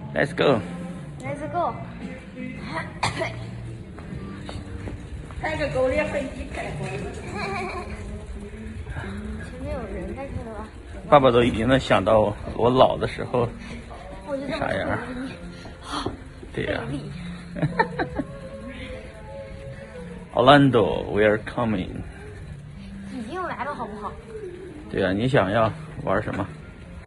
Let's go。 Let's go。 开个狗链飞机开过来。 前面有人在这了吧？ 爸爸都已经能想到我老的时候我就这么啥样。 好， 对呀、 费力。 Orlando, we are coming。 已经来了，好不好？ 对呀、你想要玩什么？